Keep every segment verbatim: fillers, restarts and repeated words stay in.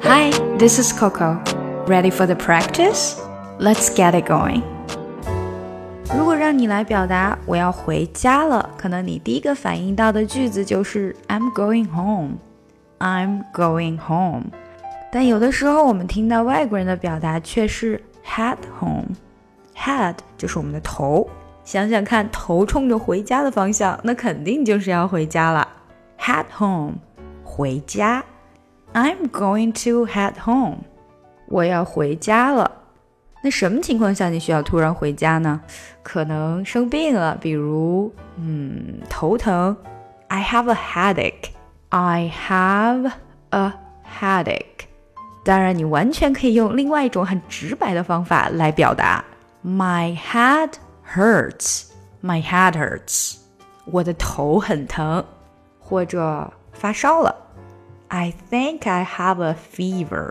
Hi, this is Coco. Ready for the practice? Let's get it going. 如果让你来表达我要回家了，可能你第一个反应到的句子就是 I'm going home. I'm going home. 但有的时候我们听到外国人的表达却是 head home. Head 就是我们的头，想想看，头冲着回家的方向，那肯定就是要回家了。Head home, 回家。I'm going to head home. 我要回家了。那什么情况下你需要突然回家呢？可能生病了，比如嗯，头疼。I have a headache. I have a headache. 当然你完全可以用另外一种很直白的方法来表达。My head hurts. My head hurts. 我的头很疼。或者发烧了。I think I have a fever.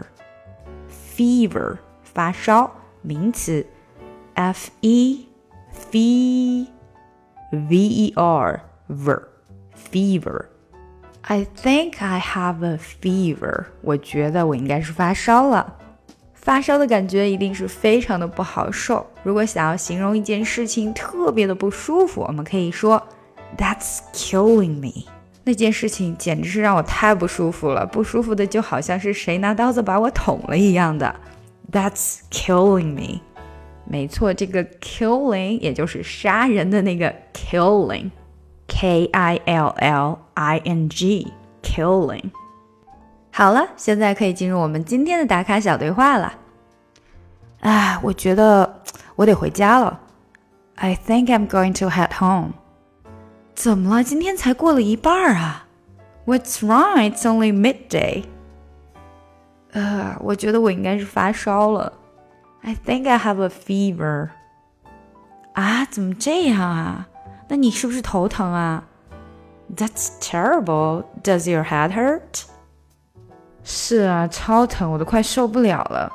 Fever, 发烧，名词 F E V E R ver, fever. I think I have a fever. 我觉得我应该是发烧了。发烧的感觉一定是非常的不好受。如果想要形容一件事情特别的不舒服，我们可以说 That's killing me. 那件事情简直是让我太不舒服了，不舒服的就好像是谁拿刀子把我捅了一样的。That's killing me. 没错，这个 killing 也就是杀人的那个 killing. K I L L I N G. Killing. 好了，现在可以进入我们今天的打卡小对话了。啊，我觉得我得回家了。I think I'm going to head home. 怎么了？今天才过了一半啊 What's wrong? It's only midday. 呃，我觉得我应该是发烧了 I think I have a fever. 啊，怎么这样啊？那你是不是头疼啊？ That's terrible. Does your head hurt? 是啊，超疼，我都快受不了了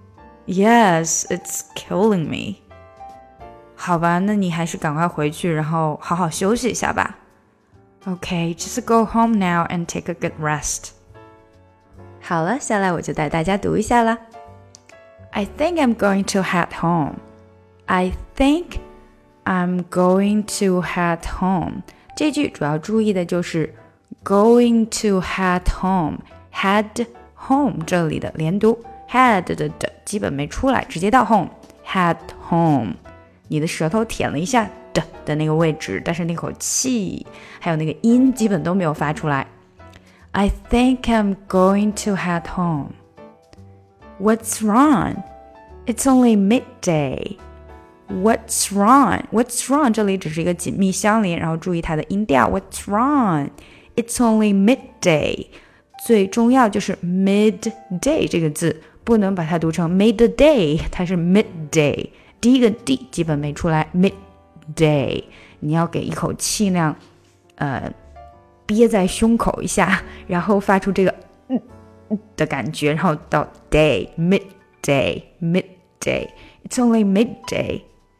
Yes, it's killing me.好吧，那你还是赶快回去，然后好好休息一下吧。Okay, just go home now and take a good rest. 好了，下来我就带大家读一下啦。I think I'm going to head home. I think I'm going to head home. 这句主要注意的就是 going to head home. Head home 这里的连读 head 的的基本没出来，直接到 home. Head home.你的舌头舔了一下的的那个位置，但是那口气还有那个音基本都没有发出来。I think I'm going to head home. What's wrong? It's only midday. What's wrong? What's wrong? 这里只是一个紧密相连，然后注意它的音调。What's wrong? It's only midday. 最重要就是 midday 这个字，不能把它读成 midday， 它是 midday。第一个 D 基本没出来 midday 你要给一口气那样呃憋在胸口一下，然后发出这个嗯的感觉，然后到 day midday midday It's only midday.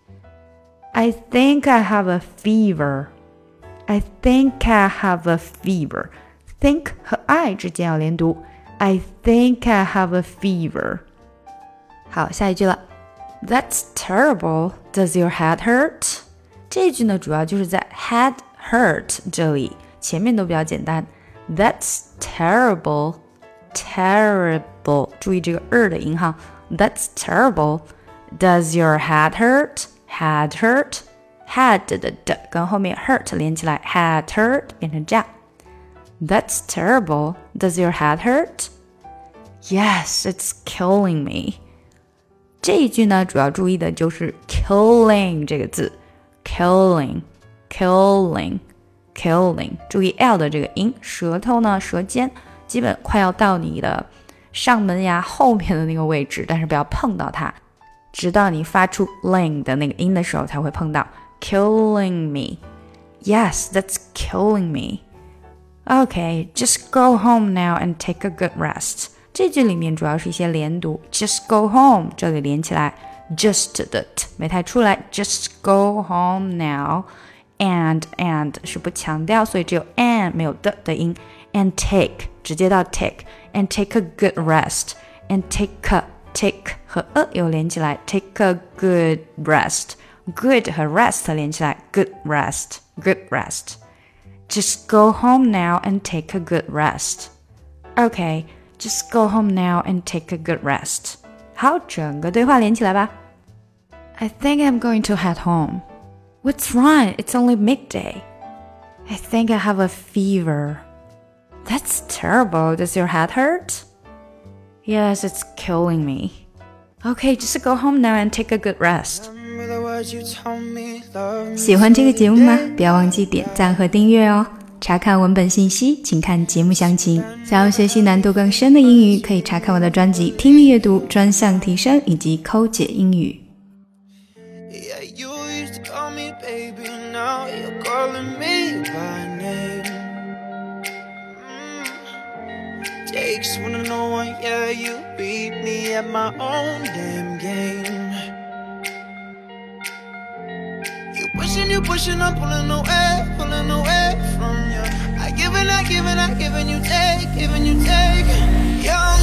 I think I have a fever. I think I have a fever. Think 和 I 之间要连读 I think I have a fever. 好，下一句了That's terrible. Does your head hurt? 这句呢，主要就是在 head hurt 这里，前面都比较简单。That's terrible. Terrible. 注意这个 er 的音哈。That's terrible. Does your head hurt? Head hurt. Head 的的跟后面 hurt 连起来 head hurt 变成这样。That's terrible. Does your head hurt? Yes, it's killing me.这一句呢，主要注意的就是 killing 这个字 killing killing killing 注意 L 的这个音，舌头呢舌尖基本快要到你的上门牙后面的那个位置，但是不要碰到它，直到你发出 ling 的那个音的时候才会碰到 killing me. Yes, that's killing me. Okay, just go home now and take a good rest.这句里面主要是一些连读 Just go home 这里连起来 Just 的 t 没太出来 Just go home now And and 是不强调，所以只有 and 没有的的音 And take 直接到 take and take a good rest. And take a, take 和 a 有连起来 take a good rest. Good 和 rest 连起来 good rest, good rest. Just go home now and take a good rest. Okay, just go home now and take a good rest. 好，整个对话连起来吧。I think I'm going to head home. What's wrong? It's only midday. I think I have a fever. That's terrible. Does your head hurt? Yes, it's killing me. Okay, just go home now and take a good rest. 喜欢这个节目吗？不要忘记点赞和订阅哦。查看文本信息，请看节目详情。想要学习难度更深的英语，可以查看我的专辑《听力阅读专项提升》以及抠解英语。 Takes one to know one, yeah, you beat me at my own damn game. You pushing, you pushing, I'm pulling away, pulling away from you. I give and I give and I give and you take, give and you take. Yeah.